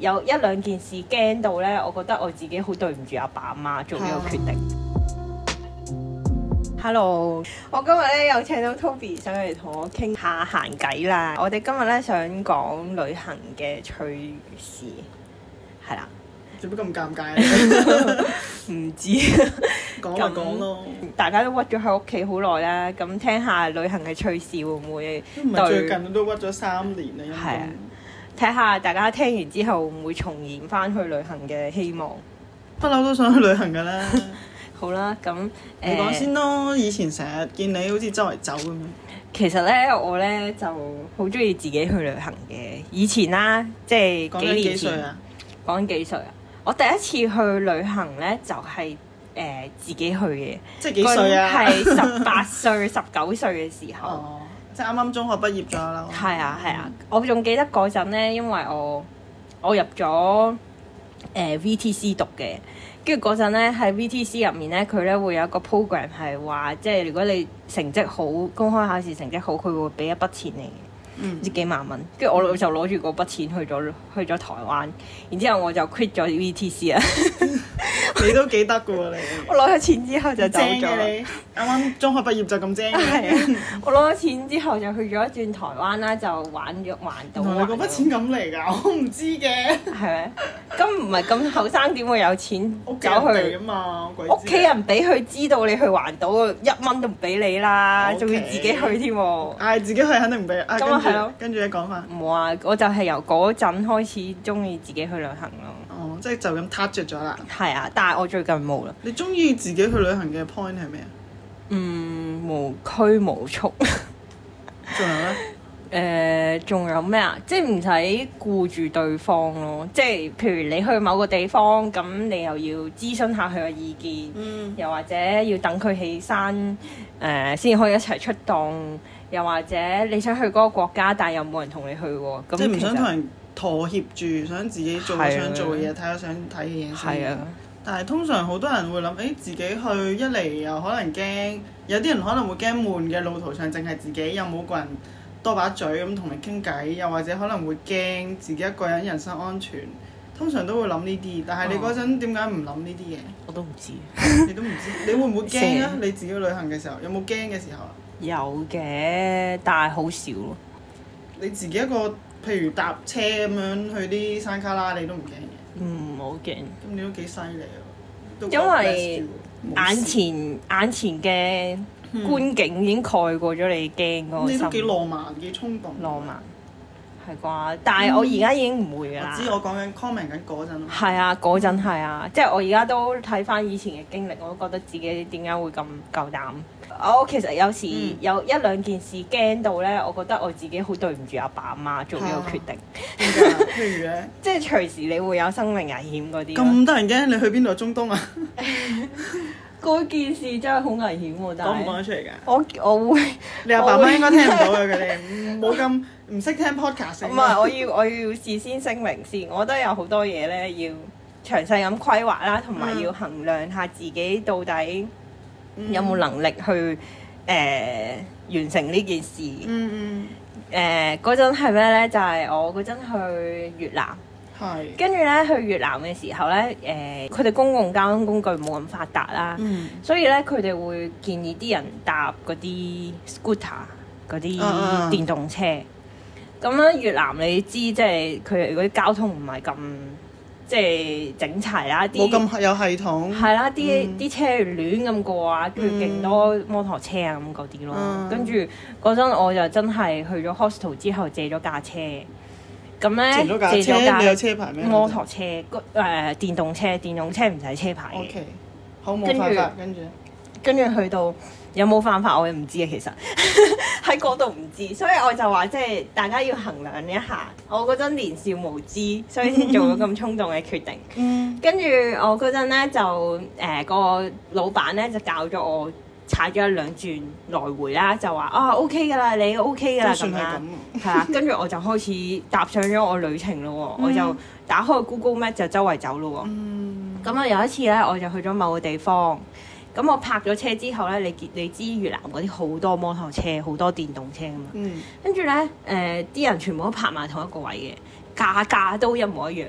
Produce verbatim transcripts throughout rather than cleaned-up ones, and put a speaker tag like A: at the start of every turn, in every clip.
A: 有一兩件事驚到咧，我覺得我自己好對唔住阿爸阿媽做呢個決定。Hello，我今日咧有請到 Toby 上嚟同我傾下閒偈啦。我哋今日咧想講旅行嘅趣事，係啦。
B: 做乜咁尷尬咧？
A: 唔知
B: 講就講咯。
A: 大家都屈咗喺屋企好耐啦，咁聽下旅行嘅趣事會唔會對？
B: 唔係最近都屈咗三年啦，應該。係啊，
A: 睇下大家聽完之後會唔會重燃翻去旅行嘅希望。
B: 不嬲都想去旅行㗎啦。
A: 好啦，咁
B: 你講先咯。以前成日見你好似周圍走咁樣。
A: 其實咧，我咧就好中意自己去旅行嘅。以前啦，即係幾年前。講緊幾歲啊？講緊幾歲啊？我第一次去旅行咧，就係、是、誒、呃、自己去嘅。
B: 即係幾歲啊？
A: 係十八歲、十九歲嘅時候。
B: 哦，即係啱啱中學畢業咗啦。
A: 係啊係啊，我仲記得嗰陣咧，因為我我入咗誒、呃、V T C 讀嘅。跟住嗰陣咧，喺 V T C 入面咧，佢咧會有一個 program 係話，即係如果你成績好，公開考試成績好，佢會俾一筆錢你嘅，唔知幾萬蚊。跟住我就攞住嗰筆錢去咗去咗台灣，然之後我就 quit 咗 V T C 啦。
B: 你都幾得㗎喎你！
A: 我攞咗錢之後就走咗。
B: 正嘅你，啱啱中學畢業就咁正嘅。
A: 係啊，我攞咗錢之後就去咗一轉台灣啦，就玩咗環島。
B: 原來你嗰筆錢咁嚟㗎，我唔知嘅。
A: 係咪？咁唔係咁後生點會有錢走去
B: 啊嘛？
A: 屋企人俾佢知道你去環島，一蚊都唔俾你啦，仲 Okay. 要自己去添喎。
B: 嗌自己去肯定唔俾。
A: 咁啊係咯。
B: 跟住你講翻。
A: 冇啊！我就係由嗰陣開始中意自己去旅行咯。
B: 哦，即係就咁撻着咗啦。
A: 係啊，但係我最近冇啦。
B: 你中意自己去旅行嘅 point 係咩啊？
A: 嗯，無拘無束。
B: 仲有咧？
A: 誒，仲有咩啊？即係唔使顧住對方咯。即係譬如你去某個地方，咁你又要諮詢下佢嘅意見，
B: 嗯、
A: 又或者要等佢起身，誒先可以一齊出動。又或者你想去嗰個國家，但係又冇人同你去喎。咁
B: 即係唔想同人妥協住，想自己做想做嘅嘢，睇下想睇嘅嘢先。
A: 係啊。
B: 但係通常好多人會諗，誒、欸、自己去一嚟又可能驚，有啲人可能會驚悶嘅路途上，淨係自己又冇個人多把嘴咁同你傾偈，又或者可能會驚自己一個人人身安全，通常都會諗呢啲。但係你嗰陣點解唔諗呢啲嘢？
A: 我都唔知。
B: 你都唔知，你會唔會驚啊？你自己旅行嘅時候有冇驚嘅時候啊？
A: 有嘅，但係好少咯。
B: 你自己一個，譬如搭車咁樣去啲山卡拉，你都唔驚嘅？
A: 唔好驚。
B: 咁你都幾犀利啊！
A: 因為眼前眼前嘅觀景已經蓋過咗你驚嗰個心。
B: 你都幾浪漫，幾衝動。浪漫
A: 係啩？但係我而家已經唔會㗎啦。
B: 我知我講緊 comment 緊嗰陣。係
A: 啊，嗰陣係啊，即係我而家都睇翻以前嘅經歷，我都覺得自己點解會咁夠膽。我其實有時有一兩件事驚到咧，我覺得我自己好對唔住阿爸阿媽做呢個決定。
B: 點解？譬如咧，
A: 即係隨時你會有生命危險嗰啲。
B: 咁得人驚？你去邊度？中東啊？
A: 嗰件事真係好危險喎！但係
B: 講唔講得出嚟㗎？
A: 我我會，
B: 你阿爸媽應該聽唔到嘅，佢哋冇咁唔識聽 podcast。
A: 唔係，我要我要事先聲明先，我覺得有好多嘢咧要詳細咁規劃啦，同埋要衡量下自己到底有冇能力去誒、呃、完成呢件事。
B: 嗯嗯。
A: 誒嗰陣係咩咧？就係、是、我嗰陣去越南。
B: 係。跟
A: 住咧去越南嘅時候咧，誒佢哋公共交通工具冇咁發達啦，
B: 嗯、
A: 所以咧佢哋會建議啲人搭嗰啲 scooter 嗰啲電動車。咁咧、uh, uh. 越南你知即係佢哋嗰啲交通唔係咁即係整齊啦，啲
B: 冇咁有系統。
A: 係啦，啲啲、嗯、車亂咁過啊，跟住勁多摩托車啊咁嗰啲咯。嗯、跟住嗰陣我就真係去咗 hostel 之後借咗架車。咁咧借咗架，
B: 你有車牌咩？
A: 摩托車，誒、呃、電動車，電動車唔使車牌嘅。
B: O K，好冇犯法，跟住
A: 跟住去到有冇犯法我又唔知啊，其實喺嗰度唔知，所以我就話即係大家要衡量一下。我嗰陣年少無知，所以先做咗咁衝動嘅決定。嗯、跟住我嗰陣咧就誒、呃個老闆咧就教咗我。踩咗一兩轉來回啦，就話啊 OK 㗎啦，你 OK 㗎啦咁啦，係啊，跟住我就開始踏上咗我旅程咯喎，嗯、我就打開 Google Map 就周圍走咯喎，咁啊、嗯、有一次咧我就去咗某個地方，咁我泊咗車之後咧，你你知越南嗰啲好多摩托車，好多電動車㗎嘛，跟住咧誒啲人全部都泊埋同一個位嘅，價價都一模一樣嘅。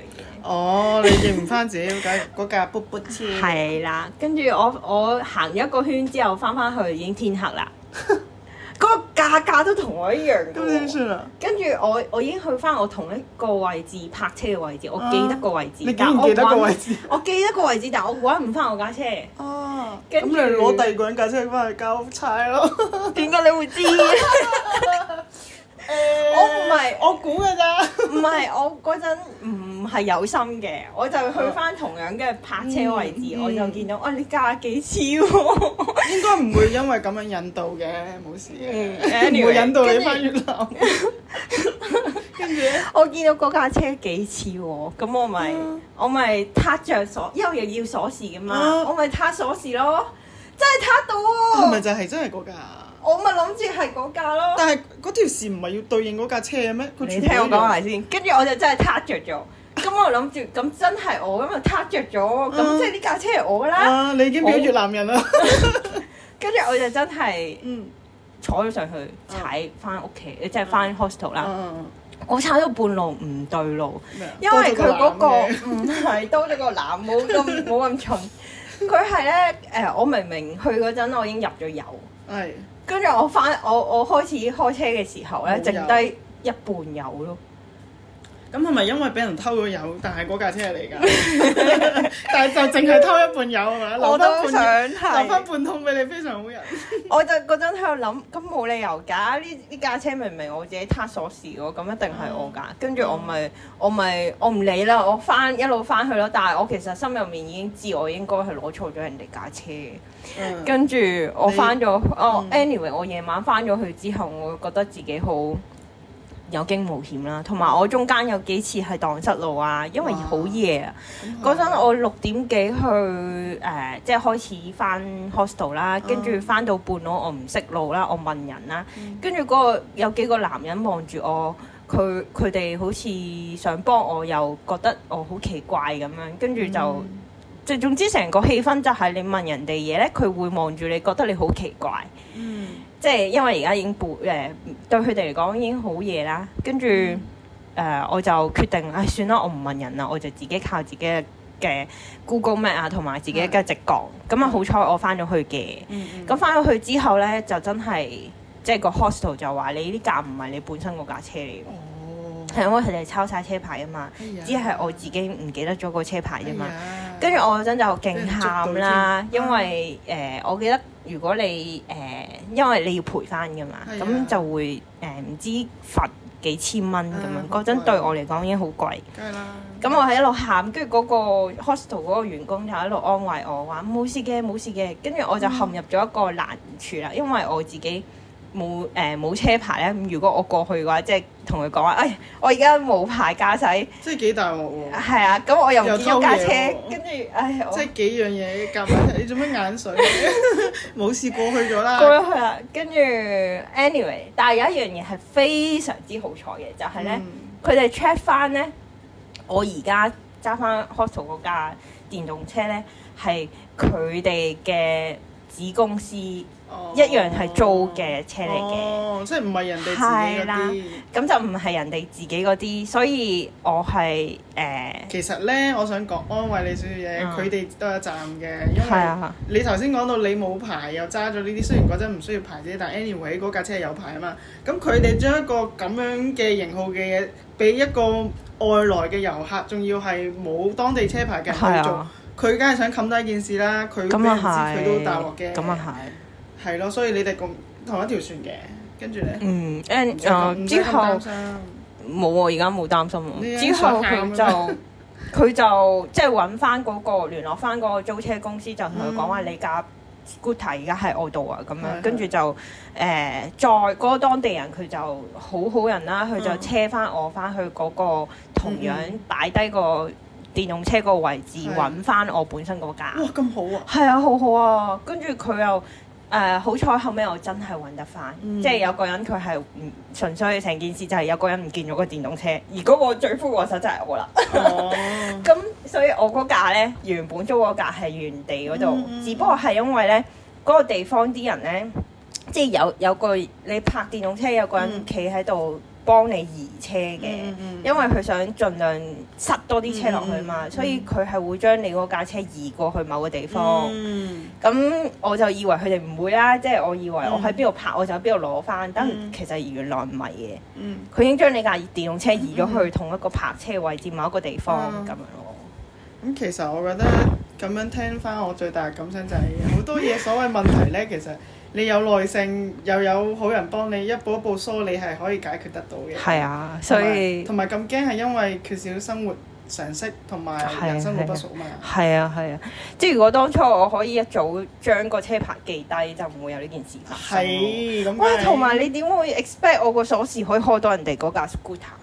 B: 哦，你認唔翻自己嗰架嗰架卜卜車？
A: 係啦，跟住我我行一個圈之後翻翻去已經天黑啦。嗰個價格都同我一樣嘅喎。
B: 咁點算啊？
A: 跟住我我已經去翻我同一個位置泊車嘅位置，我記得個位置。
B: 你竟然記得個位置？
A: 我記得個位置，但係我揾唔翻我架車。
B: 哦，
A: 咁
B: 你攞第二個人架車翻去交差咯？
A: 點解你會知？我唔係
B: 我估㗎咋。
A: 唔係我嗰陣唔係有心嘅，我就去翻同樣嘅泊車位置，我就見到哦，你價幾次喎？
B: 應該唔會因為咁樣引導嘅，冇事嘅，唔
A: Anyway，
B: 會引導你翻越南。跟住咧，
A: 我見到嗰架車幾次喎，咁我咪我咪撻着鎖，因為又要鎖匙嘅嘛，我咪撻鎖匙咯，真係撻到喎！
B: 係咪就係真係嗰架？
A: 我咪諗住係嗰架咯。
B: 但係嗰條線唔係要對應嗰架車嘅咩？佢
A: 你聽我講埋先，跟住我就真係撻着咗。咁我諗住，咁真係我咁就撻着咗，咁即係呢架車係我㗎啦。
B: 啊！你已經變咗越南人啦。
A: 跟住我就真係
B: 嗯
A: 坐咗上去踩翻屋企，即係翻 hostel 啦。
B: 嗯
A: 我踩到半路唔對路，
B: 咩啊
A: 因為佢嗰個
B: 多咗個籃嘅
A: 唔係多咗個籃，冇咁冇咁重。佢係咧誒，我明明去嗰陣我已經入咗油，
B: 係。
A: 跟住我翻我我開始開車嘅時候咧，
B: 冇油
A: 剩低一半油咯。
B: 咁係咪因為俾人偷咗油，但係嗰架車係你㗎？但係就淨係偷一半油係嘛？
A: 我都想
B: 留翻
A: 係，
B: 半桶俾你，非常好人。
A: 我就嗰陣喺度諗，咁冇理由㗎，呢呢架車明明我自己撻鎖匙喎，咁一定係我㗎。跟住我咪我咪我唔理啦，我翻一路翻去咯。但係我其實心入面已經知我應該係攞錯咗人哋架車嘅。
B: 嗯
A: 跟住我翻咗，哦
B: 嗯
A: ，anyway，我夜晚翻咗去之後，我覺得自己好有驚無險啦，同埋我中間有幾次係蕩失路啊，因為好夜啊。嗰陣我六點幾去誒、呃，即係開始翻 hostel 啦，跟住翻到半路我唔識路啦，我問人啦，跟住嗰個有幾個男人望住我，佢佢哋好似想幫我，又覺得我好奇怪咁樣，跟住就即係、嗯、總之成個氣氛就係你問人哋嘢咧，佢會望住你，覺得你好奇怪。
B: 嗯。
A: 即係因為而家已經半誒、呃、對佢哋嚟講已經好夜啦，跟住誒、呃、我就決定，唉、哎、算啦，我唔問人啦，我就自己靠自己嘅 Google Map 啊，同埋自己嘅直覺。咁啊好彩我翻咗去嘅，咁翻咗去之後咧就真係即係個 hostel 就話你呢架唔係你本身嗰架車嚟嘅。
B: 哦。
A: 係因為佢哋抄晒車牌啊嘛，
B: 哎、呀
A: 只係我自己唔記得咗個車牌啫嘛。
B: 哎、
A: 跟住我嗰陣就勁喊啦，因為誒、
B: 啊
A: 呃、我記得如果你誒、呃、因為你要賠翻㗎嘛，咁、
B: 啊、
A: 就會誒唔、呃、知罰幾千蚊咁樣。嗰陣、
B: 啊、
A: 對我嚟講已經好貴。
B: 梗係啦。
A: 咁我係一路喊，跟住嗰個 hostel 嗰個員工就一路安慰我話冇事嘅冇事嘅，跟住我就陷入咗一個難處啦，因為我自己。冇誒冇車牌咧，咁如果我過去嘅話，即係同佢講話，誒我而家冇牌駕駛，
B: 即係幾大鑊喎！
A: 係啊，咁我又唔見咗架車，跟住唉，
B: 即係幾樣嘢夾埋一齊，你做咩眼水？冇事過去咗啦。
A: 過咗去啦，跟住 anyway，但係有一樣嘢係非常之好彩嘅，就係咧，佢哋 check 翻咧，我而家揸翻 hostel 嗰架電動車咧，係佢哋嘅子公司。
B: 哦、
A: 一樣係租嘅車嚟嘅，
B: 哦，即係唔係人哋自己嗰啲，
A: 咁就唔係人哋自己嗰啲，所以我係誒。呃、
B: 其實咧，我想講安慰你少少嘢，佢哋、嗯、都有責任嘅，因為、
A: 啊、
B: 你頭先講到你冇牌又揸咗呢啲，雖然嗰陣唔需要牌啫，但 anyway 嗰架車係有牌啊嘛。咁佢哋將一個咁樣嘅型號嘅嘢俾一個外來嘅遊客，仲要係冇當地車牌嘅人去做，佢梗係想冚低件事啦。佢俾人知佢都大鑊嘅。咁啊係。係咯，所以你哋共同一條船嘅，跟住咧，
A: 嗯，and 誒之後冇喎，而家冇擔心喎。之後佢就佢就即係揾翻嗰個聯絡翻嗰個租車公司，就同佢講話你架 scooter 而家喺我度啊，咁樣跟住就誒再嗰個當地人佢就好好人啦，佢就車翻我翻去嗰個同樣擺低個電動車個位置揾翻我本身嗰架。
B: 哇，咁好啊！
A: 係啊，好好啊，跟住佢又。誒、uh, 好彩後尾我真係揾得翻，嗯、即係有個人佢係唔純粹成件事就係有個人唔見咗個電動車，而嗰個罪魁禍首就係我啦。咁、哦、所以我嗰架咧原本租嗰架係原地嗰度，嗯嗯、只不過係因為咧嗰、嗰個地方啲人咧，即係有有個你泊電動車有個人企喺度幫你移車嘅，
B: 嗯嗯
A: 因為佢想盡量塞多啲車落去嘛，
B: 嗯嗯、
A: 所以佢係會將你嗰架車移過去某個地方。咁、
B: 嗯、
A: 我就以為佢哋唔會啦，即、就、係、是、我以為我喺邊度泊我就喺邊度攞翻，但、嗯、其實原來唔係嘅。佢、嗯、已經將你架電動車移咗去同一個泊車位置某一個地方咁、嗯、樣咯。
B: 咁、嗯、其實我覺得咁樣聽翻，我最大嘅感想就係好多嘢所謂問題咧，其實你有耐性又有好人幫你一步一步梳理係可以解決得到嘅。係啊，所以同埋咁驚係因為缺少生活常識同埋人生路不熟嘛。係啊係啊，即係如果當初我可以一早將個車牌記低，就唔會有呢件事發生。係咁。喂，同埋你點會 expect 我個鎖匙可以開到人哋嗰架 scooter？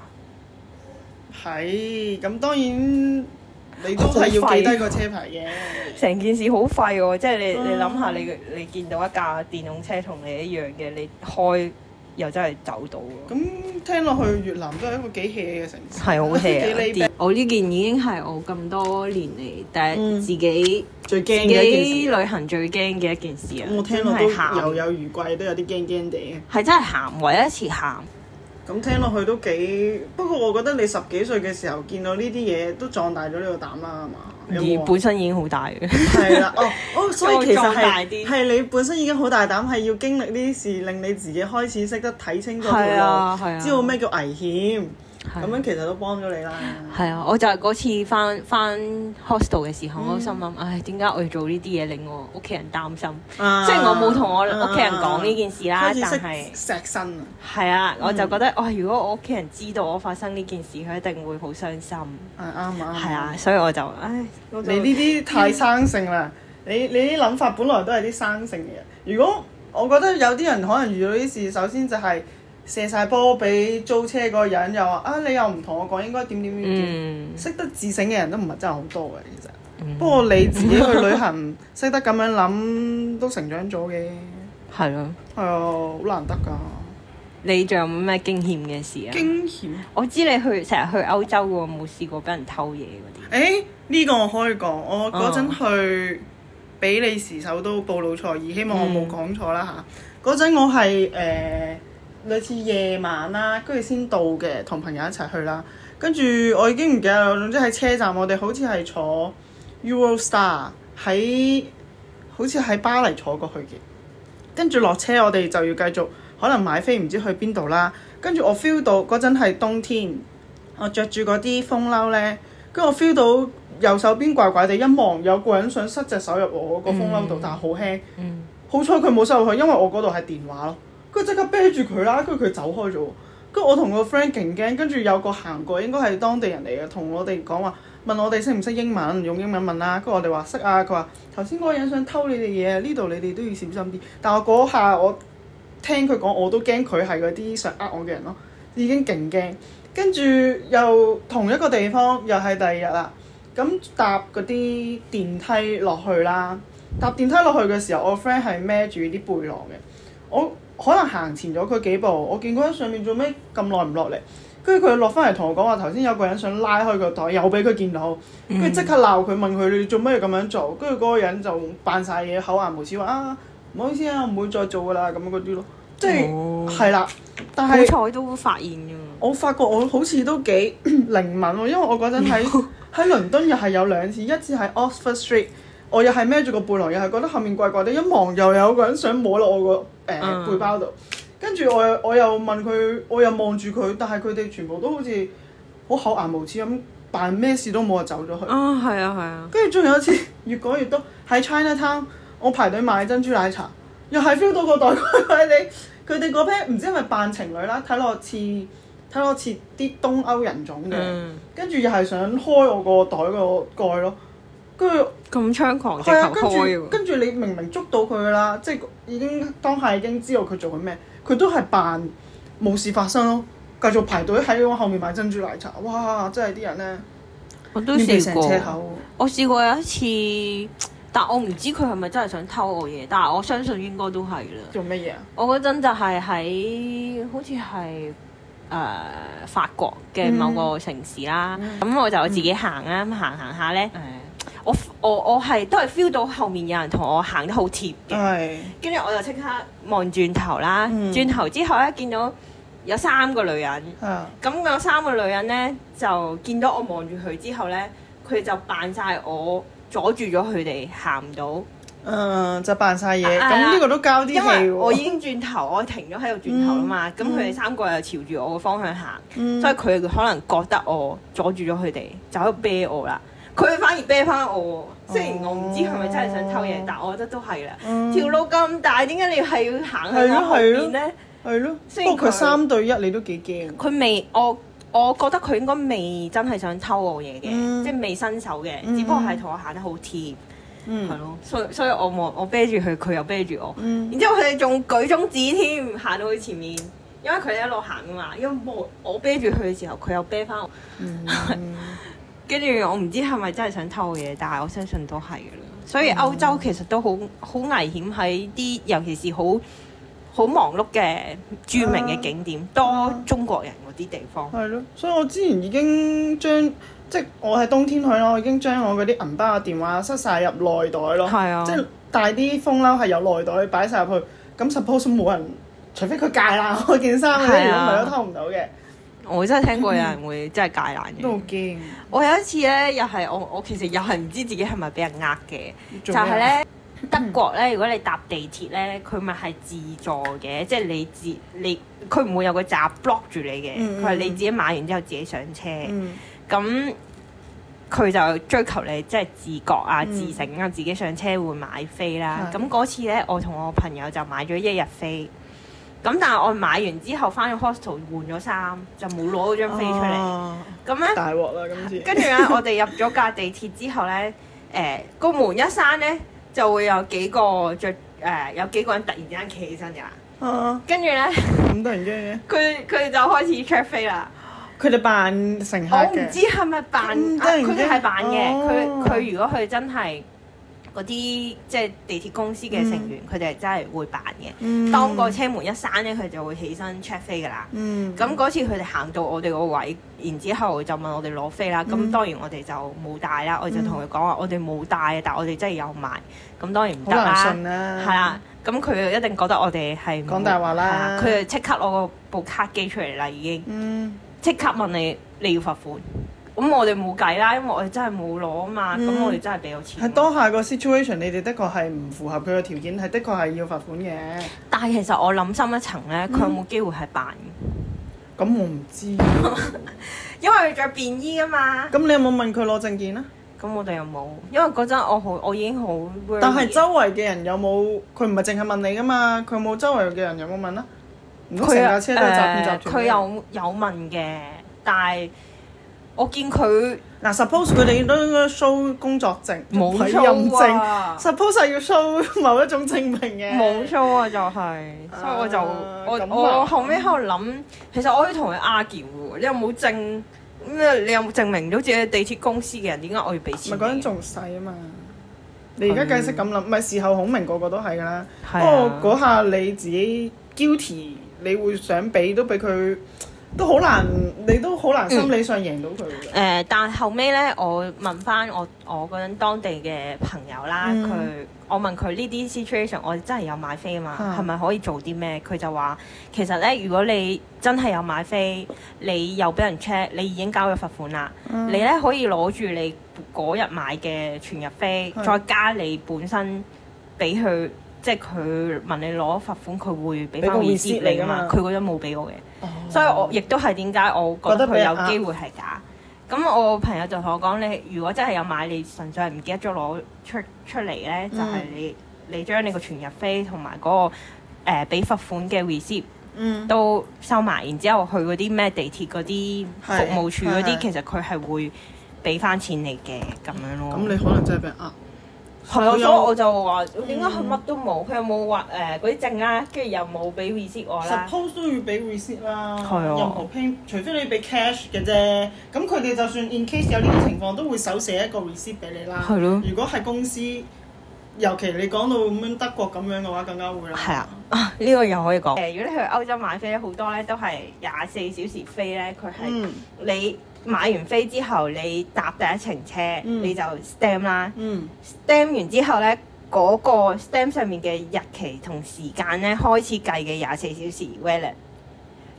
B: 係，咁當然。你都係要記低個車牌嘅，成件事好廢喎！即係你、嗯、你諗下，你你見到一架電動車同你一樣嘅，你開又真係走到喎。咁聽落去越南都係一個幾 hea 嘅城市，係好 hea 啊！我呢件已經係我咁多年嚟第一自己、嗯、最驚嘅一件事，旅行最驚嘅一件事啊！我聽落都猶有餘悸，都有啲驚驚地。係真係喊，唯一一次喊。咁聽落去都幾，不過我覺得你十幾歲嘅時候見到呢啲嘢都壯大咗呢個膽啦，係嘛？而本身已經好大嘅。係啦，哦哦，所以其實係係你本身已經好大膽，係要經歷呢啲事，令你自己開始識得睇清楚條路，啊、知道咩叫危險。咁樣其實都幫咗你啦。係啊，我就係嗰次翻翻 hostel 嘅時候，嗯、我心諗，唉，點解我要做呢啲嘢令我屋企人擔心？啊、雖然我冇同我屋企人講呢件事啦，啊、但係錫身啊。係啊，我就覺得，哇、嗯！如果我屋企人知道我發生呢件事，佢一定會好傷心。係啱啊！係啊，所以我就，唉，我就你呢啲太生性啦！你你啲諗法本來都係啲生性嘅人。如果我覺得有啲人可能遇到呢啲事，首先就係、是。射晒波俾租車嗰個人，又話啊你又唔同我講應該點點點點，識、嗯、得自省嘅人都唔係真係好多嘅其實。嗯、不過你自己去旅行，識得咁樣諗都成長咗嘅。係咯。係啊，好難得㗎。你仲有冇咩驚險嘅事啊？驚險？我知你去成日去歐洲喎，冇試過俾人偷嘢嗰啲。誒呢、欸呢個我可以講，我嗰陣去比利時首都布魯塞爾，希望我冇講錯啦嚇。嗰陣、嗯、我係誒。呃類似夜晚啦，跟住先到嘅，同朋友一齊去啦。跟住我已經唔記得啦，總之喺車站，我哋好似係坐 Eurostar 喺，好似喺巴黎坐過去嘅。跟住落車，我哋就要繼續可能買飛，唔知去邊度啦。跟住我 feel 到嗰陣係冬天，我着住嗰啲風褸咧，跟住我 feel 到右手邊怪怪地，一望有個人想塞隻手入我嗰個風褸度，嗯、但係好輕。嗯、好彩佢冇塞入去，因為我嗰度係電話咯。跟住即刻啤住佢啦，跟住佢走開咗。跟住我同個 friend 勁驚，跟住有個行過，應該係當地人嚟嘅，同我哋講話問我哋識唔識英文，用英文問啦。跟住我哋話識啊，佢話頭先嗰個人想偷你哋嘢，呢度你哋都要小心啲。但我嗰下我聽佢講，我都驚佢係嗰啲想呃我嘅人咯，已經勁驚。跟住又同一個地方，又係第二日啦。咁搭嗰啲電梯落去啦，搭電梯落去嘅時候，我 friend 係孭住啲背囊嘅，我。可能行前咗佢幾步，我見嗰人上面做咩咁耐唔落嚟，跟住佢落翻嚟同我講話，頭先有個人想拉開個袋，又俾佢見到，跟住即刻鬧佢，問佢你做咩要咁樣做，跟住嗰個人就扮晒嘢，口顏無恥話啊唔好意思啊，唔會再做噶啦咁嗰啲咯，即係係啦，但係好彩都發現㗎。我發覺我好似都幾靈敏喎，因為我嗰陣喺喺倫敦又係有兩次，一次喺 Oxford Street。我又係孭住個背囊，又係覺得後面怪怪地，一望又有個人想摸落我個誒、呃嗯、背包度，跟住我又我又問佢，我又望住佢，但係佢哋全部都好似好厚顏無恥咁，扮咩事都冇就走咗去。啊，係啊，係啊。跟住仲有一次越講越多，喺 Chinatown 我排隊買珍珠奶茶，又係 feel 到個袋怪怪地，佢哋嗰 pair 唔知係咪扮情侶啦，睇落似睇落似啲東歐人種嘅，跟住又係想開我個袋個蓋咯。跟住咁猖狂，直頭開喎！跟住你明明捉到佢㗎啦，即係已經當下已經知道佢做緊咩，佢都係扮冇事發生咯，繼續排隊喺我後面買珍珠奶茶。哇！真係啲人咧，我都試過。我試過有一次，但我唔知佢係咪真係想偷我嘢，但係我相信應該都係啦。做乜嘢啊？我嗰陣就係喺好似係誒法國嘅某個城市啦，咁、嗯、我就自己行啦，咁行行下咧。我我我係都係 feel 到後面有人同我行得好貼嘅，跟住我就即刻望轉頭啦，轉頭之後咧見到
A: 有三個女人，
B: 啊
A: 咁有三個女人咧就見到我望住佢之後咧，佢哋就扮晒我阻住咗佢哋行唔到。
B: 嗯，就扮晒嘢，
A: 啊
B: 咁呢個都交啲氣
A: 因為
B: 喎。
A: 我已經轉頭，我停咗喺度轉頭啦嘛，咁佢哋三個又朝住我個方向行，
B: 嗯
A: 所以佢哋可能覺得我阻住咗佢哋，就喺度啤我啦。佢哋反而啤翻我喎，雖然我唔知係咪真係想偷嘢，但我覺得都係啦。
B: 嗯
A: 條路咁大，點解你係要行去我後
B: 係咯係咯
A: 邊咧？
B: 係咯，
A: 雖然
B: 不過佢
A: 佢
B: 三對一，你都幾驚。
A: 佢未，我我覺得佢應該未真係想偷我嘢嘅，
B: 嗯
A: 即係未伸手嘅，
B: 嗯
A: 只不過係同我行得好貼。
B: 嗯
A: 係咯，所以所以我望我啤住佢，佢又啤住我，
B: 嗯
A: 然之後佢哋仲舉中指添，行到去前面，因為佢哋一路行噶嘛，因為我我啤住佢嘅時候，佢又啤翻我，
B: 嗯
A: 跟住我唔知係咪真係想偷嘢，但係我相信都係噶啦。所以歐洲其實都好好危險，喺啲尤其是好好忙碌嘅著名嘅景點，多中國人嗰啲地方。
B: 係咯，所以我之前已經將即係我喺冬天去咯，我已經將我嗰啲銀包啊、電話塞晒入內袋咯。
A: 係啊
B: 即係帶啲風褸係有內袋擺晒入去。咁 suppose 冇人，除非佢戒爛我件衫，如果唔
A: 係啊
B: 係都偷唔到嘅。
A: 我真係聽過有人會真係戒爛
B: 都好
A: 嘅。
B: 驚。
A: 我有一次咧，又係我我其實又係唔知自己係咪俾人呃嘅，就
B: 做咩啊
A: 係咧德國咧，如果你搭地鐵咧，佢咪係自助嘅，即係你自你佢唔會有個閘 block 住你嘅，
B: 嗯嗯
A: 佢係你自己買完之後自己上車，
B: 嗯
A: 咁佢、就追求你即係自覺啊、
B: 嗯
A: 自省啊，自己上車會買飛啦。
B: 係
A: 咁嗰次咧，我同我朋友就買咗一日飛，咁但係我買完之後翻去 hostel 換咗衫，就冇攞嗰張飛出嚟，
B: 哦
A: 咁咧。
B: 大鑊啦今次。
A: 跟住咧，我哋入咗架地鐵之後咧，誒、個門一閂咧，就會有幾個着誒、有幾個人突然之間企起身㗎啦。
B: 啊
A: 跟住咧，
B: 咁得人驚嘅。
A: 佢佢哋就開始 check 飛啦。
B: 佢哋扮乘客
A: 我唔
B: 嘅。
A: 知係咪扮，啊
B: 咁得人驚
A: 佢哋係扮嘅。佢
B: 哦
A: 佢如果佢真係嗰啲即係地鐵公司嘅成員，佢哋係真係會扮嘅。
B: 嗯
A: 當個車門一閂咧，佢就會起身 check 飛㗎啦。
B: 嗯
A: 咁嗰次佢哋行到我哋個位，然之後就問我哋攞飛啦。咁、
B: 嗯
A: 當然我哋就冇帶啦，我就同佢講話我哋冇帶啊，但係我哋真係有買。咁當然唔
B: 好難
A: 得啦，
B: 信啦。
A: 係啦。咁佢一定覺得我哋係冇
B: 講大話啦
A: 係佢就即刻攞個部卡機出嚟啦，已經
B: 嗯
A: 即刻問你你要罰款。咁我哋冇計啦，因為我哋真係冇攞啊嘛。咁、
B: 嗯
A: 我哋真係俾咗錢。
B: 喺當下個 situation，你哋的確係唔符合佢嘅條件，係的確係要罰款嘅。
A: 但係其實我諗深一層咧，佢有冇機會係扮？
B: 咁我唔知。
A: 因為佢着便衣啊嘛。
B: 咁你有冇問佢攞證件啊？
A: 咁我哋又冇，因為嗰陣我好，我已經好 worry。
B: 但係周圍嘅人有冇？佢唔係淨係問你噶嘛？佢有冇周圍嘅人有冇問啊？唔通成架車都係詐騙集團
A: 誒佢有有問嘅，但係我見佢
B: 嗱，suppose 佢哋都應該 show 工作證、
A: 冇
B: 委
A: show
B: 任證
A: 啊
B: ，suppose 係要 show 某一種證明嘅。
A: 冇 show 啊，就係、所以我就我
B: 咁啊
A: 我後尾喺度諗，其實我可以同佢 argue 喎，你有冇證咩？你有冇證明到自己係地鐵公司嘅人？點解我要俾
B: 唔
A: 錢你？
B: 係嗰陣仲細啊嘛。你而家計識咁諗，唔係事後孔明個個都係㗎啦。不
A: 係啊
B: 過嗰下你自己 guilty，你會想俾都俾佢，都好難，你都好難心理上贏到佢嘅。
A: 誒、呃但係後尾咧，我問翻我我嗰陣當地嘅朋友啦，佢、
B: 嗯
A: 我問佢呢啲 situation，我真係有買飛啊嘛，
B: 嗯
A: 係咪、可以做啲咩？佢就話其實咧，如果你真係有買飛，你又俾人 check，你已經交咗罰款啦，
B: 嗯
A: 你咧可以攞住你嗰日買嘅全日飛，
B: 係
A: 再加你本身俾佢，即係佢問你攞罰款，佢會俾翻
B: 俾個
A: receipt
B: receipt
A: 你噶嘛，
B: 嚟㗎嘛
A: 佢嗰陣冇俾我嘅。
B: 哦
A: 所以我亦都係點解我覺得
B: 覺得
A: 佢
B: 俾人呃
A: 有機會係假。咁我朋友就同我講：你如果真係有買，你純粹係唔記得咗攞出出嚟咧，就係、你你將你個全日飛同埋嗰個誒俾、罰款嘅 receipt
B: 嗯
A: 都收埋，然之後去嗰啲咩地鐵嗰啲服
B: 係
A: 務處嗰
B: 係係
A: 啲，其實佢係會俾翻錢你嘅咁樣咯。
B: 咁你可能真係俾人呃。
A: 係啊，所以
B: 佢有
A: 我就話點解佢乜都冇？佢有冇話誒嗰啲證啦，跟住又冇俾 receipt 我啦。
B: suppose 都要俾 receipt 啦，
A: 係啊
B: 任何 pay，除非你俾 cash 嘅啫。咁佢哋就算 in case 有呢啲情況，都會手寫一個 receipt 俾你啦。
A: 係咯
B: 如果係公司，尤其你講到咁樣德國咁樣嘅話，更加會啦。
A: 係啊，啊呢、個又可以講。誒、如果你去歐洲買飛咧，好多咧都係廿四小時飛咧，佢係
B: 嗯
A: 你買完飛之後，你搭第一程車，
B: 嗯
A: 你就 stamp 啦
B: 嗯
A: ，stamp 完之後咧，嗰、個 stamp 上面嘅日期同時間咧開始計嘅廿四小時 valid。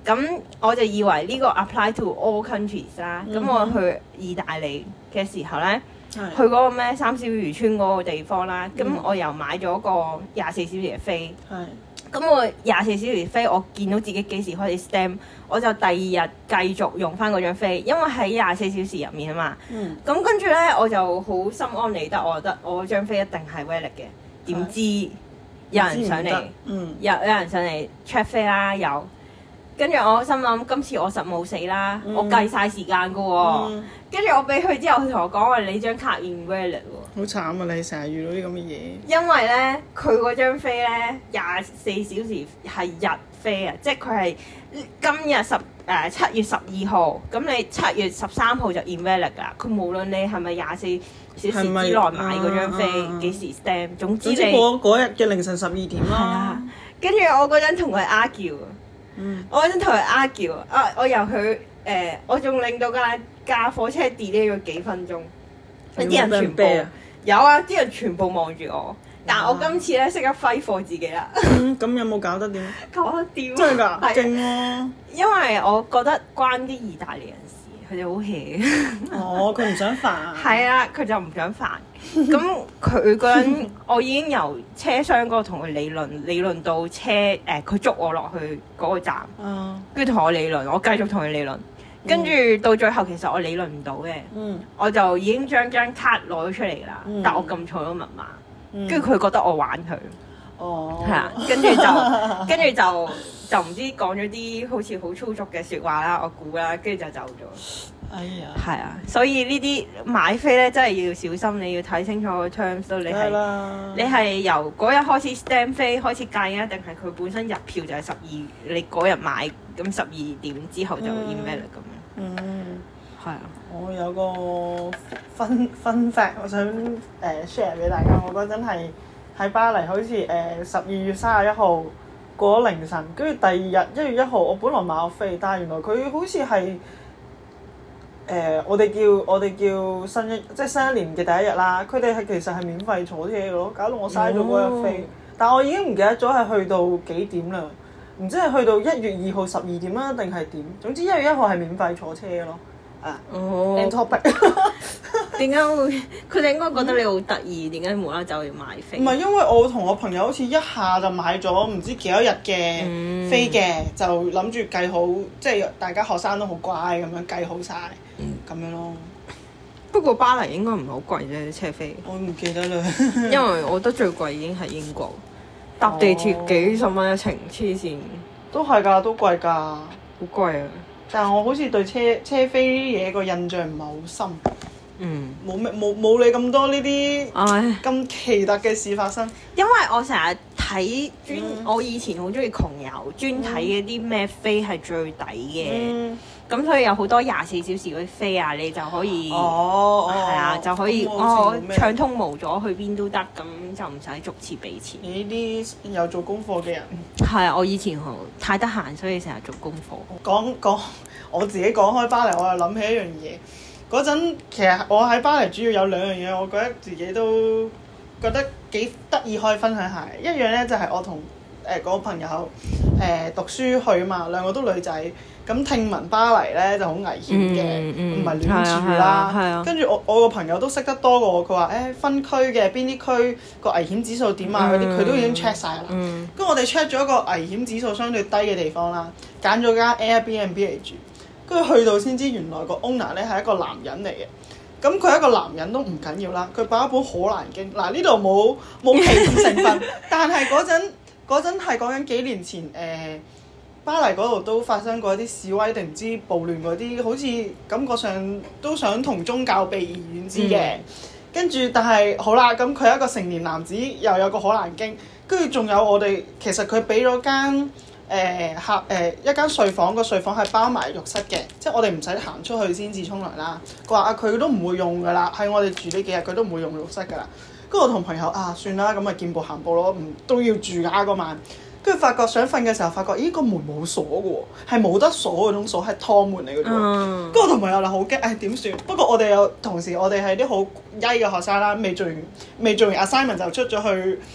A: 咁我就以為呢個 apply to all countries 啦。咁、
B: 嗯、
A: 我去意大利嘅時候咧，
B: 是
A: 去嗰個咩三小漁村嗰個地方啦，咁、
B: 嗯、
A: 我又買咗個廿四小時嘅飛。
B: 係。
A: 咁我廿四小時飛，我見到自己幾時開始 stamp，我就第二日繼續用翻嗰張飛，因為喺廿四小時入面啊嘛。
B: 嗯。
A: 咁跟住咧，我就好心安理得，我覺得我張飛一定係 valid 嘅。點知有人上嚟，
B: 嗯、
A: 有有人上嚟 check 飛啦，有。跟住我心諗，今次我實冇死啦，嗯、我計晒時間噶喎。跟住、嗯、我俾佢之後，佢同我講話你張卡 invalid 喎。
B: 好慘啊！你成日遇到啲咁嘅嘢。
A: 因為咧，佢嗰張飛咧廿四小時係日飛啊，即係佢係今日十誒七月十二號，咁你七月十三號就 invalid 㗎。佢無論你係咪廿四小時之內買嗰張飛，幾、啊、時 stamp，總之你
B: 嗰日嘅凌晨十二點啦。
A: 跟住我嗰陣同佢 argue。
B: 嗯、
A: 我嗰陣同佢 argue 啊！我由佢誒、呃，我仲令到架架火車 delay 咗幾分鐘，啲人全部有啊！啲人全部望住我，但係我今次咧識得揮霍自己啦。
B: 咁、嗯、有冇搞得掂？
A: 搞得掂！
B: 真係㗎，
A: 係
B: 勁喎！
A: 因為我覺得關啲意大利人事，佢哋好 hea。
B: 哦，佢唔想煩。
A: 係啊，佢就唔想煩。咁佢嗰陣，我已經由車廂嗰度同佢理論，理論到車誒，佢、呃、捉我落去嗰個站，跟住同我理論，我繼續同佢理論，跟住、嗯、到最後其實我理論唔到嘅，嗯、我就已經將張卡攞咗出嚟啦，嗯、但我撳錯咗密碼，跟住佢覺得我玩佢，係啊、哦，跟住就跟住就就唔知講咗啲好似好粗俗嘅説話啦，我估啦，跟住就走咗。
B: 哎呀，
A: 係啊，所以呢啲買飛咧真係要小心，你要睇清楚個 terms 咯。你係你係由嗰日開始 stamp 飛開始計啊，定係佢本身入票就係十二，你嗰日買咁十二點之後就 invalid 咁樣。嗯，係啊。
B: 我有個分分 fact 我想誒 share 俾大家，我嗰陣係喺巴黎，好似誒十二月三十一號過咗凌晨，跟住第二日一月一號，我本來買咗飛，但係原來佢好似係。誒、呃，我哋叫我哋叫新一即係新一年嘅第一日啦。佢哋係其實係免費坐車嘅咯，搞到我嘥咗嗰日飛。哦、但係我已經唔記得咗係去到幾點啦，唔知係去到一月二號十二點啦，定係點？總之一月一號係免費坐車嘅咯。啊，
A: 哦
B: end topic。
A: 點解會？佢哋應該覺得你好得意，點解無啦啦就要買飛？
B: 唔係因為我同我朋友好似一下就買咗唔知幾多日嘅飛嘅，嗯、就諗住計好，即係大家學生都好乖咁樣計好晒。咁、嗯、樣咯。
A: 不過巴黎應該唔係好貴啫，車飛。
B: 我唔記得啦。
A: 因為我覺得最貴已經係英國，搭地鐵幾十蚊一程，黐線。都係㗎，都貴㗎。好貴啊！
B: 但係我好似對車車飛嘢個印象唔係好深。
A: 嗯。冇
B: 咩冇冇你咁多呢啲
A: 唉
B: 咁奇特嘅事發生。
A: 因為我成日睇專，嗯、我以前好中意窮遊，專睇嗰啲咩飛係最抵嘅。嗯咁所以有好多廿四小時嗰啲飛啊，你就可以，
B: 哦，係
A: 啊，就可以哦暢通無阻去邊都得，咁就唔使逐次俾錢。
B: 你呢啲有做功課嘅人，
A: 係啊，我以前好太得閒，所以成日做功課。
B: 講講我自己講開巴黎，我又諗起一樣嘢。嗰陣其實我喺巴黎主要有兩樣嘢，我覺得自己都覺得幾得意，可以分享下。一樣咧就係、是、我同誒嗰個朋友誒、呃、讀書去啊嘛，兩個都女仔。咁聽聞巴黎咧就好危險嘅，唔係、嗯嗯、亂住啦。跟住我我個朋友都識得多過我，佢話誒分區嘅邊啲區個危險指數點啊嗰啲，佢、嗯、都已經 check 晒啦。跟住、嗯、我哋 check 咗一個危險指數相對低嘅地方啦，揀咗間 Airbnb 嚟住。跟住去到先知原來個 owner 咧係一個男人嚟嘅。咁佢係一個男人都唔緊要啦，佢擺一本《可蘭經》。嗱呢度冇冇歧視成分，但係嗰陣嗰陣係講緊幾年前誒。呃巴黎嗰度都發生過一啲示威定唔知暴亂嗰啲，好似感覺上都想同宗教避而遠之嘅。跟住、嗯、但係好啦，咁佢係一個成年男子，又有個可蘭經，跟住仲有我哋其實佢俾咗間誒客誒一間睡房，個睡房係包埋浴室嘅，即係我哋唔使行出去先至沖涼啦。佢話啊，佢都唔會用㗎啦，喺我哋住呢幾日佢都唔會用浴室㗎啦。跟住我同朋友啊，算啦，咁咪見步行步咯，唔都要住㗎嗰晚。跟住發覺想瞓嘅時候，發覺咦個門冇鎖嘅喎，係冇得鎖嗰種鎖，係趟門嚟嘅啫喎。跟住、嗯、我同朋友就好驚，誒點算？不過我哋有同時，我哋係啲好曳嘅學生啦，未做完未做完 assignment 就出咗去，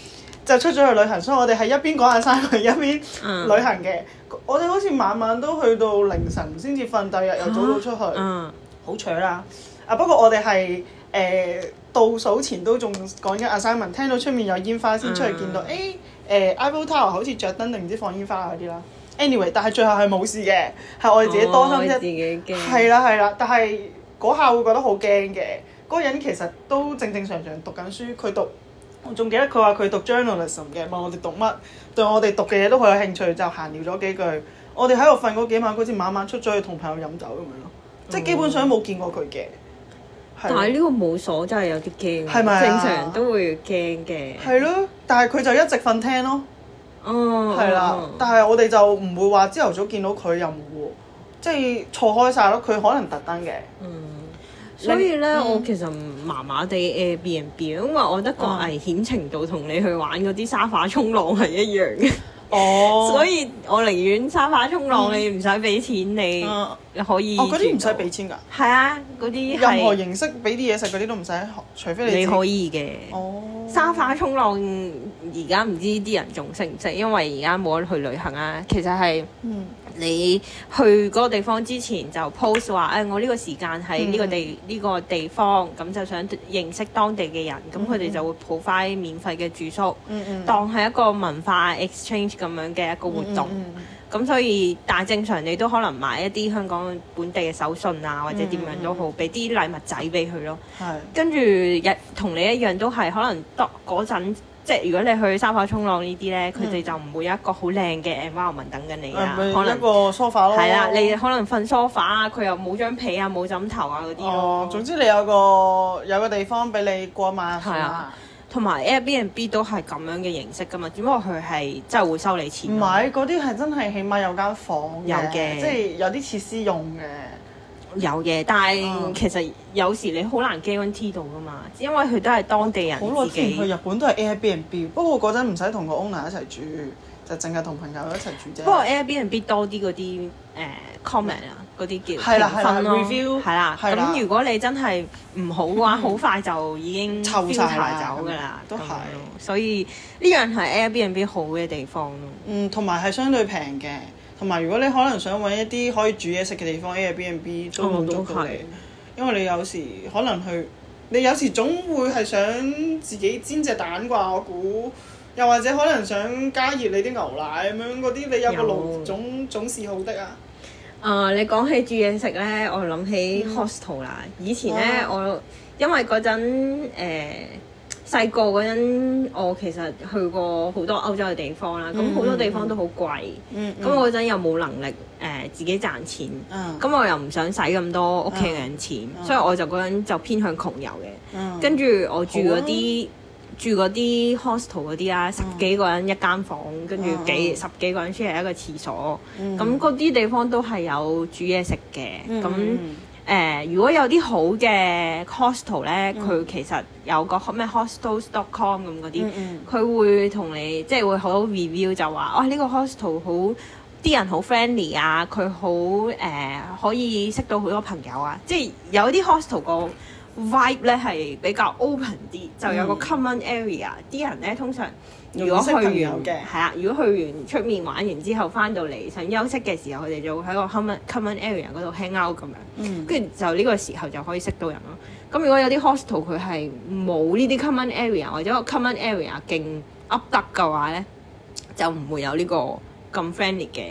B: 就出咗去旅行，所以我哋係一邊講下山，一邊旅行嘅。
A: 嗯、
B: 我哋好似晚晚都去到凌晨先至瞓，第二日又早早出去，
A: 嗯，
B: 好扯啦。啊不過我哋係誒倒數前都仲講緊 assignment， 聽到出面有煙花先出去見到，誒誒、嗯呃、Eiffel Tower 好似着燈定唔知放煙花嗰啲啦。anyway， 但係最後係冇事嘅，係我哋自己多心啫，
A: 自己驚。
B: 係啦係啦，但係嗰下會覺得好驚嘅。嗰個人其實都正正常常讀緊書，佢讀。我仲記得佢話佢讀 journalism 嘅，問我哋讀乜，對我哋讀嘅嘢都好有興趣，就閒聊咗幾句。我哋喺度瞓嗰幾晚，好似晚晚出咗去同朋友飲酒咁樣咯，即係基本上冇見過佢嘅。
A: 但係呢個冇鎖真係有啲驚，
B: 係咪啊？
A: 正常人都會驚嘅。
B: 係咯，但係佢就一直瞓廳咯。
A: 哦，
B: 係啦，但係我哋就唔會話朝頭早見到佢又冇喎，即係錯開晒咯。佢可能特登嘅。嗯。
A: 所以咧，嗯、我其實麻麻地 Airbnb，因為我覺得個危險程度同你去玩嗰啲沙發衝浪係一樣嘅。哦，所以我寧願沙發衝浪，嗯、你唔使俾錢，你可以。哦，嗰啲唔使俾錢㗎。係啊，嗰啲
B: 任何形式俾啲嘢食嗰啲都唔使，除非你。
A: 你可以嘅。
B: 哦。
A: 沙發衝浪而家唔知啲人仲識唔識，因為而家冇得去旅行啊。其實係。嗯。你去嗰個地方之前就 post 話，誒、哎、我呢個時間喺呢個地呢、嗯、個地方，咁就想認識當地嘅人，咁佢哋就會 provide免費嘅住宿，嗯嗯、當係一個文化 exchange 咁樣嘅一個活動。咁、嗯嗯、所以，但係正常你都可能買一啲香港本地嘅手信啊，或者點樣都好，俾啲、嗯、禮物仔俾佢咯。係是。跟住日同你一樣都係可能當嗰陣。即係如果你去沙發衝浪呢啲咧，佢哋、嗯、就唔會有一個好靚嘅 environment 等緊你啊，
B: 嗯、
A: 可能
B: 一個 sofa 咯。
A: 係啦，你可能瞓 sofa 啊，佢又冇張被啊，冇枕頭啊嗰啲咯。
B: 哦，總之你有個有個地方俾你過晚。係啊，
A: 同埋 Airbnb 都係咁樣嘅形式噶嘛，只不過佢係真係會收你錢。
B: 唔係，嗰啲係真係起碼有間房
A: 有嘅的，
B: 即係有啲設施用嘅。
A: 有嘅，但係其實有時你好難 guarantee 到噶嘛，因為佢都係當地人自己。好耐前去日本都係 Airbnb，不過嗰陣唔使同個 owner 一齊住，就淨係同朋友一齊住啫。不過 Airbnb 多啲嗰啲誒 comment 啊，嗰啲叫評分咯，review 係啦。咁如果你真係唔好嘅話，好快就已經
B: 臭曬
A: 走㗎啦。都係，所以呢樣係 Airbnb 好嘅地方咯。
B: 嗯，同埋係相對平嘅。同埋，如果你可能想揾一啲可以煮嘢食嘅地方 ，Airbnb 都滿足到你。哦、因為你有時可能去，你有時總會係想自己煎隻蛋啩，我估。又或者可能想加熱你啲牛奶咁樣嗰啲，你有個爐總總是好的啊。
A: 啊、呃！你講起煮嘢食咧，我諗起 hostel 啦。嗯、以前咧，哦、我因為嗰陣誒細個嗰陣，我其實去過好多歐洲嘅地方啦。咁好、嗯、多地方都好貴。咁、嗯嗯、我嗰陣又冇能力誒、呃、自己賺錢。咁、嗯、我又唔想使咁多屋企人錢，嗯、所以我就嗰陣就偏向窮遊嘅。嗯、跟住我住嗰啲。住嗰啲 hostel 嗰啲啊，十幾個人一間房，跟住幾、嗯、十幾個人 share 一個廁所，咁嗰啲地方都係有煮嘢食嘅。咁誒、嗯呃，如果有啲好嘅 hostel 咧，佢、嗯、其實有個咩 hostels dot com 咁嗰啲，佢、嗯、會同你即係會好 review 就話，哦呢、呢個 hostel 好啲人好 friendly 啊，佢好誒可以識到好多朋友啊，即係有啲 hostel 個vibe 咧係比較 open 啲，就有個 common area，啲、嗯、人咧通常如果去完係啊，如果去完出面玩完之後翻到嚟想休息嘅時候，佢哋就會喺個 common common area 嗰度 hang out 咁樣，跟住、嗯、就呢個時候就可以識到人咯。咁如果有啲 hostel 佢係冇呢啲 common area 或者個 common area 勁 up 得嘅話咧，就唔會有呢個咁 friendly 嘅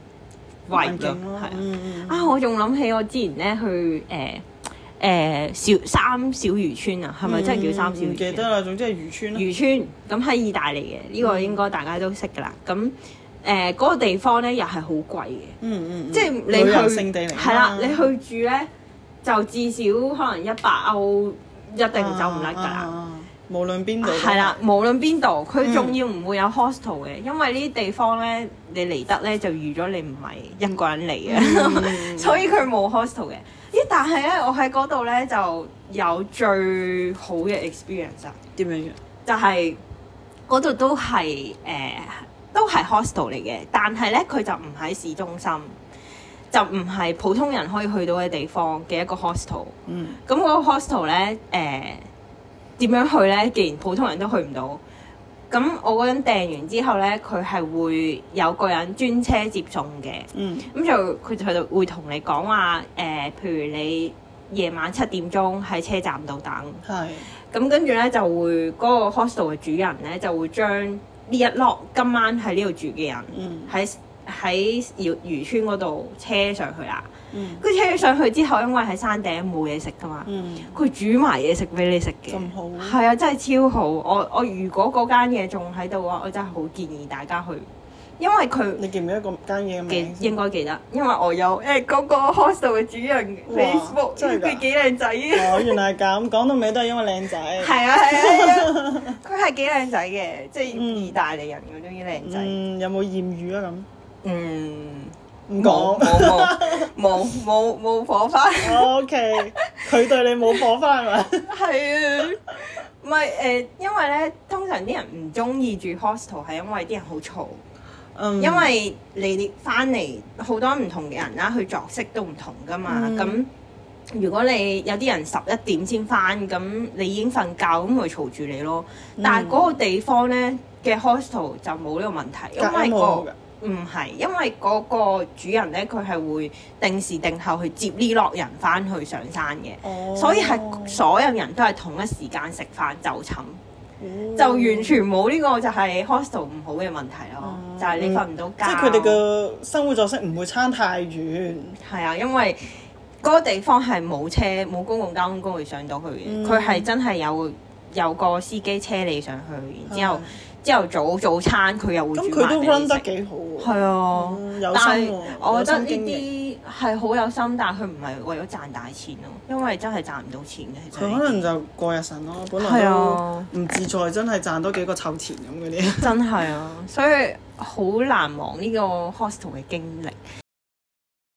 A: vibe 咯。係、嗯、啊，我仲諗起我之前咧去誒。呃誒、呃、小三小漁村啊，係咪真係叫三小漁村？唔、嗯、記
B: 得啦，總之係漁村啦。漁
A: 村咁喺意大利嘅，呢、這個應該大家都識㗎啦。咁誒嗰個地方咧又係好貴嘅，嗯嗯，即係你去係啦，你去住咧就至少可能一百歐一定走唔甩㗎啦。啊啊、
B: 無論邊度
A: 係啦，無論邊度，佢仲要唔會有 hostel 嘅，因為呢啲地方咧你嚟得咧就預咗你唔係一個人嚟嘅，嗯、所以佢冇 hostel 嘅。咦？但係咧，我喺嗰度咧就有最好嘅 experience 啊！
B: 點樣嘅？
A: 就係嗰度都係誒、呃，都係 hostel 嚟嘅，但係咧佢就唔喺市中心，就唔係普通人可以去到嘅地方嘅一個 hostel。嗯。咁嗰個 hostel 咧誒點樣去咧？既然普通人都去唔到，咁咁我嗰陣訂完之後咧，佢係會有個人專車接送嘅。
B: 嗯。
A: 咁就佢就會同你講話誒，譬如你夜晚七點鐘喺車站度等。
B: 係。
A: 咁跟住咧就會嗰、嗰個 hostel 嘅主人咧就會將呢一 lot 今晚喺呢度住嘅人喺喺漁漁村嗰度車上去啦。跟住、嗯、車咗上去之後，因為喺山頂冇嘢食噶嘛，佢、嗯、煮埋嘢食俾你食嘅。咁好。係啊，真係超好。我我如果嗰間嘢仲喺度嘅話，我真係好建議大家去。因為佢，你記唔記得嗰間嘢嘅名？記應該記得，因為我有誒嗰個 hostel 嘅主人 Facebook，佢幾靚仔嘅。哦，原來係咁，講到尾都係因為靚仔。係啊係啊，佢係幾靚仔嘅，即係意大利人嗰種靚仔。嗯，有冇豔遇啊咁？嗯，唔講，冇冇冇冇火花。O K，佢對你冇火花係咪？係啊。唔係誒，因為咧，通常啲人唔中意住 hostel 係因為啲人好嘈。Um, 因為你翻嚟好多唔同嘅人啦，佢作息都唔同噶嘛。咁、嗯、如果你有啲人十一點先翻，咁你已經瞓覺，咁咪嘈住你咯。嗯、但係嗰個地方咧嘅 hostel 就冇呢個問題，因為、個唔係，因為嗰個主人咧佢係會定時定候去接呢落人翻去上山嘅，哦、所以係所有人都係同一時間食飯就寢。就完全冇呢個就係 hostel 唔好嘅問題咯，嗯、就係你瞓唔到覺。即係佢哋嘅生活作息唔會差太遠。係啊，因為嗰個地方係冇車冇公共交通工具上到去嘅，佢係、嗯、真係有有個司機車你上去，然之後。朝頭早早餐佢又會煮埋俾你食。咁佢都 run 得幾好喎。係啊，嗯、有心喎。但係我覺得呢啲係好有心，但係佢唔係為咗賺大錢咯，因為真係賺唔到錢嘅。佢可能就過日神咯，本來都唔自在，真係賺多幾個湊錢咁嗰啲。真係啊，所以好難忘呢個 hostel 嘅經歷。